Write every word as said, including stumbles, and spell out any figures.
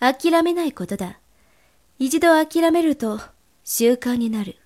諦めないことだ。一度諦めると習慣になる。